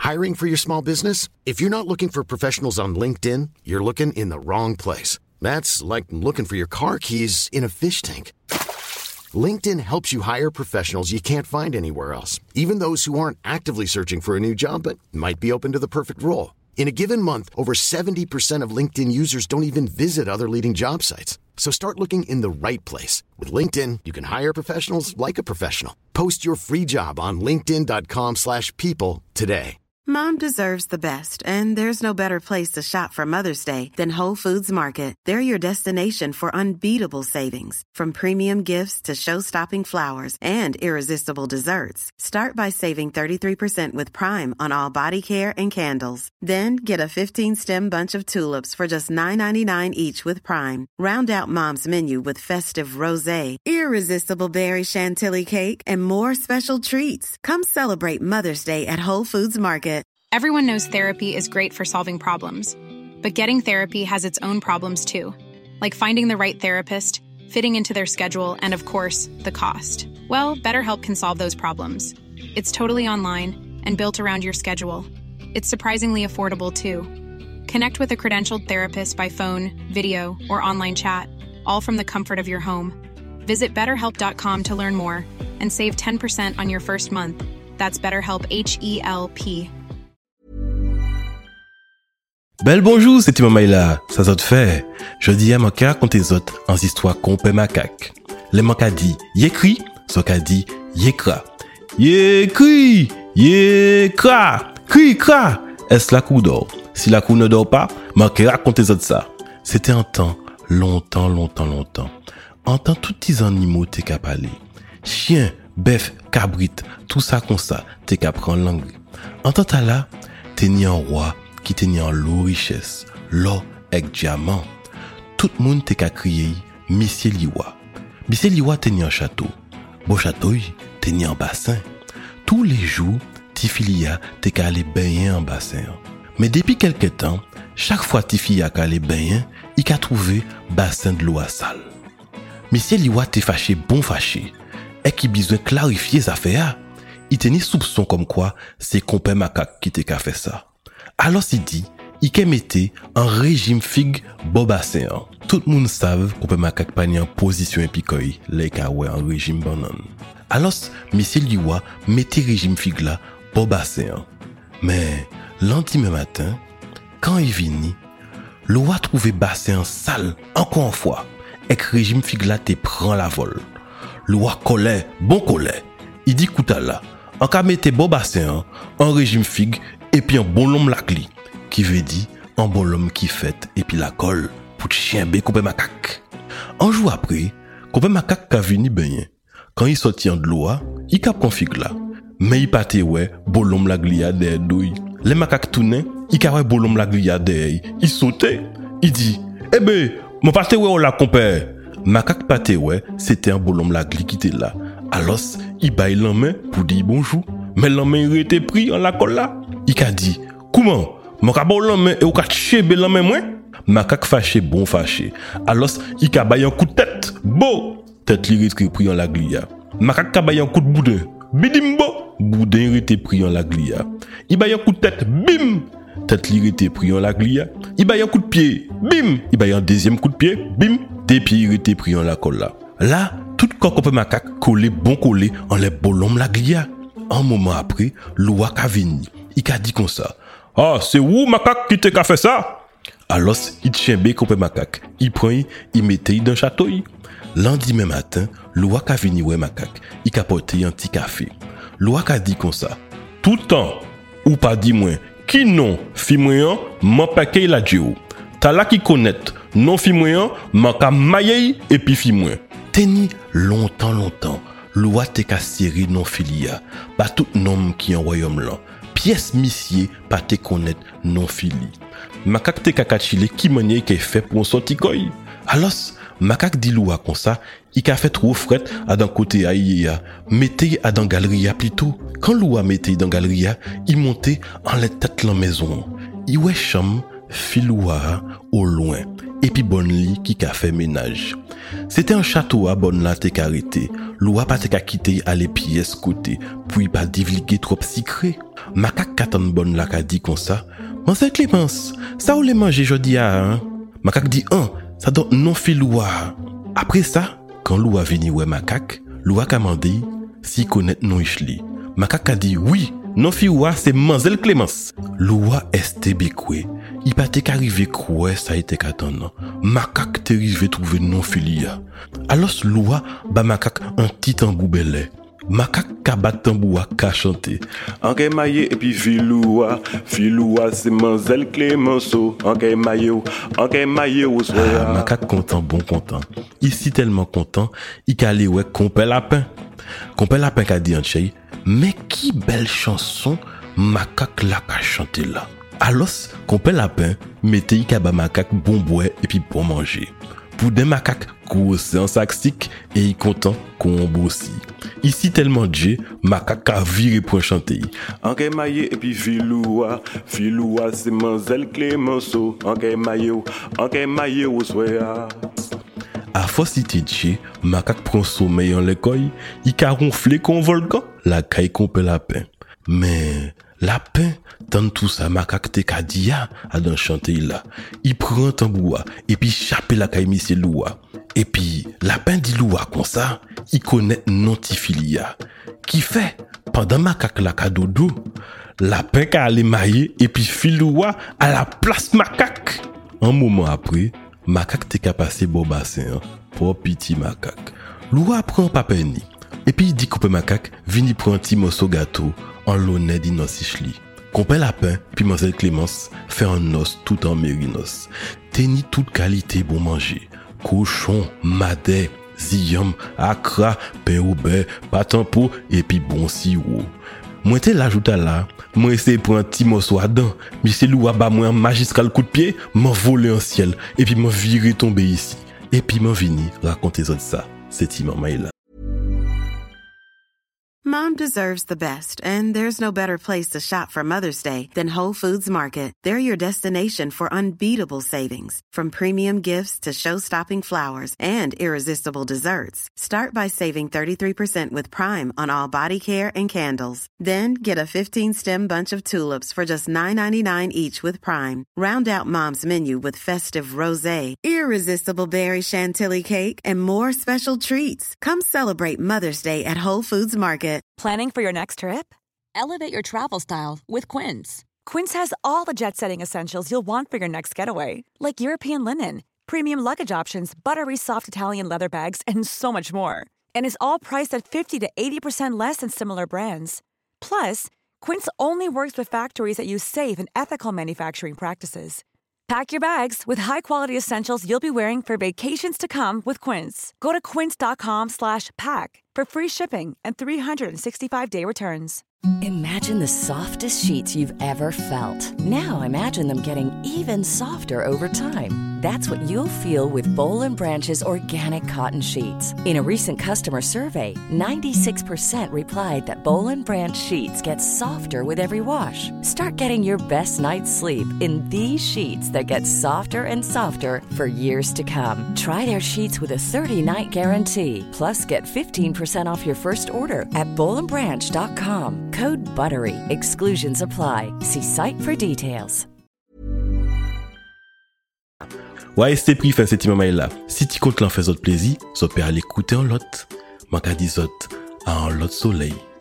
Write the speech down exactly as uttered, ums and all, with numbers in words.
Hiring for your small business? If you're not looking for professionals on LinkedIn, you're looking in the wrong place. That's like looking for your car keys in a fish tank. LinkedIn helps you hire professionals you can't find anywhere else, even those who aren't actively searching for a new job but might be open to the perfect role. In a given month, over seventy percent of LinkedIn users don't even visit other leading job sites. So start looking in the right place. With LinkedIn, you can hire professionals like a professional. Post your free job on linkedin.com slash people today. Mom deserves the best, and there's no better place to shop for Mother's Day than Whole Foods Market. They're your destination for unbeatable savings, from premium gifts to show-stopping flowers and irresistible desserts. Start by saving thirty-three percent with Prime on all body care and candles. Then get a fifteen-stem bunch of tulips for just nine ninety-nine each with Prime. Round out Mom's menu with festive rosé, irresistible berry chantilly cake, and more special treats. Come celebrate Mother's Day at Whole Foods Market. Everyone knows therapy is great for solving problems, but getting therapy has its own problems too, like finding the right therapist, fitting into their schedule, and of course, the cost. Well, BetterHelp can solve those problems. It's totally online and built around your schedule. It's surprisingly affordable too. Connect with a credentialed therapist by phone, video, or online chat, all from the comfort of your home. Visit better help dot com to learn more and save ten percent on your first month. That's BetterHelp, H E L P. Bel bonjour, c'est Timon Maïla, ça zot fait. Je dis à manka raconter zot en histoire compé macaque. Les manka dit yécri, so ka dit yécra. Yécri, yécra, cri, cra. Est-ce la cour dort? Si la cour ne dort pas, manka raconter zot ça. C'était un temps, longtemps, longtemps, longtemps. En temps, tous les animaux t'es qu'à parler. Chien, bœuf, cabrit, tout ça comme ça, t'es qu'à prendre langue. En temps, t'as là, t'es ni un roi, qui tenait en l'eau richesse, l'or avec diamant. Tout le monde t'es qu'à crier, Monsieur Liwa. Monsieur Liwa tenait un château. Beau château, tenait un bassin. Tous les jours, Tifilia t'es qu'à aller baigner en bassin. Mais depuis quelque temps, chaque fois Tifilia qu'à aller baigner, il qu'a trouvé bassin de l'eau à sale. Monsieur Liwa t'es fâché, bon fâché, et qui besoin clarifier les affaires. Il tenait soupçon comme quoi c'est compé macaque qui t'es qu'à fait ça. Alors il dit, il qu'est metté un régime figue bobassin. Tout le monde savent qu'on peut macaque pas en position épicoï, les cas ouais un régime banane. Alors, monsieur Liwa mettait régime figue là bobassin. Mais, l'endemain matin, quand il vini, l'eau a trouvé bassin sale, encore une fois, et que régime figue là te prend la vol. L'eau a collé, bon collé. Il dit, écoute là, en cas mette bobassin, un régime figue, et puis un bon homme la cli, qui veut dire un bon homme qui fait et puis la colle pour chien bé couper macaque. Un jour après, couper macaque a venu baigner. Quand il sortit de l'eau, il cap config là. Mais il partait ouais, bon homme la glia derrière douille. Les macaques tournaient, il cap ouais bon homme la glia derrière. Il sautait, il dit "Eh ben, mon partait ouais on la compère." Macaque partait ouais, c'était un bon homme la gli qui était là. Alors, il baille la main pour dire bonjour. Mais la main il était pris en la colle là. Il a dit, comment? Mon cabot l'homme et ou ka chebe l'homme moi? Macaque fâché, bon fâché. Alors, il a baillé un coup de tête. Beau! Tête li rete pris en la glia. Macaque a baillé un coup de boudin. Bidimbo! Boudin rete pris en la glia. Il baillé un coup de tête. Bim! Tête li rete pris en la glia. Il baillé un coup de pied. Bim! Il baillé un deuxième coup de pied. Bim! Des pieds rete pris en la colle là. Là, tout coq macaque collé, bon collé en les bolom la glia. Un moment après, l'oua ka vini. Il a dit comme ça. Ah, c'est où macaque qui t'a fait ça? Alors, il tient bé comme macaque. Il prend, il mettait dans le château. Lendemain matin, l'oua ka vini ouais macaque. Il a porté un petit café. L'oua ka dit comme ça. Tout temps, ou pas dit moi, qui non, fi moyen, m'en paquet la dieu. T'as là qui connaît, non fi moyen, m'en ka maye et puis fi moyen. Teni longtemps, longtemps. L'oua te ka seri non filia. Pas tout nom qui en royaume là. Pièce missier pas te connaître non fili. Macaque te kakachile qui manière qu'est fait pour un sorti koy. Alors, macaque dit l'oua comme ça, il a fait trop fret à d'un côté aïe mettez à dans galerie plutôt. Quand l'oua mettait dans galerie, il montait en la tête la maison. Il ouais cham filoua au loin. et puis bonne li qui ka fait ménage. C'était un château à bonne là t'es arrêté. Loi pas t'es quitté aller pièce côté, puis pas divulguer trop secret. Macaque katan bonne là ka dit comme ça. Monsieur Clémence, ça ou les manger jodi a hein? Macaque dit un, ça donne non fi Loua. Après ça, quand Loua vini ouais macaque, Loua ka mandé si connaît non ichli. Macaque a dit oui, non fi Loua c'est Mademoiselle Clémence. Loua est békoué. Il pas t'es arrivé quoi ça été qu'attendre. Macaque t'es arrivé trouver non filia. Alors Loua ba macaque un petit tambour belé. Macaque ka bat tambour ka chanter. Anke maye et puis filoua, filoua c'est Mademoiselle Clémenceau. Anke maye, anke maye au soir. Ah, macaque content, bon content. Ici tellement content, il ka aller ouais compé lapin. Compé lapin ka dit en chez, mais qui belle chanson macaque la ka chanter là. Alors, compé lapin, mettez y ba macaque bon boire et puis bon manger. Pour des macaques gros c'est un saxique et il content qu'on bossi. Ici tellement de macaque a viré pour chanter. Anke maye et puis filoua, filoua c'est Mademoiselle Clémenceau. Anke maye, anke maye au soir. À force cité de macaque prend sommeil en l'école, il ka ronflé comme volcan, la caille compé lapin. Mais lapin, tant tout ça, macaque te kadia à dans chanter là. Il prend tambour et puis chape la caille monsieur Loua. Et puis, lapin dit Loua comme ça, il connaît notifilia. Qui fait, pendant macaque la kadodo, lapin ka allé mailler et puis filoua à la place macaque. Un moment après, macaque te ka passé bon bassin pour petit macaque. Loua prend papeni. Et puis il dit coupe macaque, vini prend un petit morceau gâteau en l'honneur d'inosichli. Compé lapin, puis Mademoiselle Clémence fait un os tout en mérinos. Teni toute qualité bon manger. Cochon, madè, ziyam, akra, pain au beurre, patampo et puis bon sirop. Moi te l'ajoute là, moi essayer pour un petit morceau à dents, mais c'est Loua ba moi un magistral coup de pied, m'en voler en ciel et puis m'en virer tomber ici. Et puis m'en vini raconter ça ça. C'est Maman là. Mom deserves the best, and there's no better place to shop for Mother's Day than Whole Foods Market. They're your destination for unbeatable savings, from premium gifts to show-stopping flowers and irresistible desserts. Start by saving thirty-three percent with Prime on all body care and candles. Then get a fifteen-stem bunch of tulips for just nine ninety-nine each with Prime. Round out Mom's menu with festive rosé, irresistible berry chantilly cake, and more special treats. Come celebrate Mother's Day at Whole Foods Market. Planning for your next trip? Elevate your travel style with Quince. Quince has all the jet-setting essentials you'll want for your next getaway, like European linen, premium luggage options, buttery soft Italian leather bags, and so much more. And is all priced at fifty to eighty percent less than similar brands. Plus, Quince only works with factories that use safe and ethical manufacturing practices. Pack your bags with high-quality essentials you'll be wearing for vacations to come with Quince. Go to quince.com slash pack for free shipping and three sixty-five day returns. Imagine the softest sheets you've ever felt. Now imagine them getting even softer over time. That's what you'll feel with Boll and Branch's organic cotton sheets. In a recent customer survey, ninety-six percent replied that Boll and Branch sheets get softer with every wash. Start getting your best night's sleep in these sheets that get softer and softer for years to come. Try their sheets with a thirty-night guarantee. Plus, get fifteen percent off your first order at boll and branch dot com. Code BUTTERY. Exclusions apply. See site for details. Ouais, c'est pris fin cette maman là. Si tu comptes l'en faire autre plaisir, ça peut aller écouter en lot. Manque à dire autre, à en lot soleil.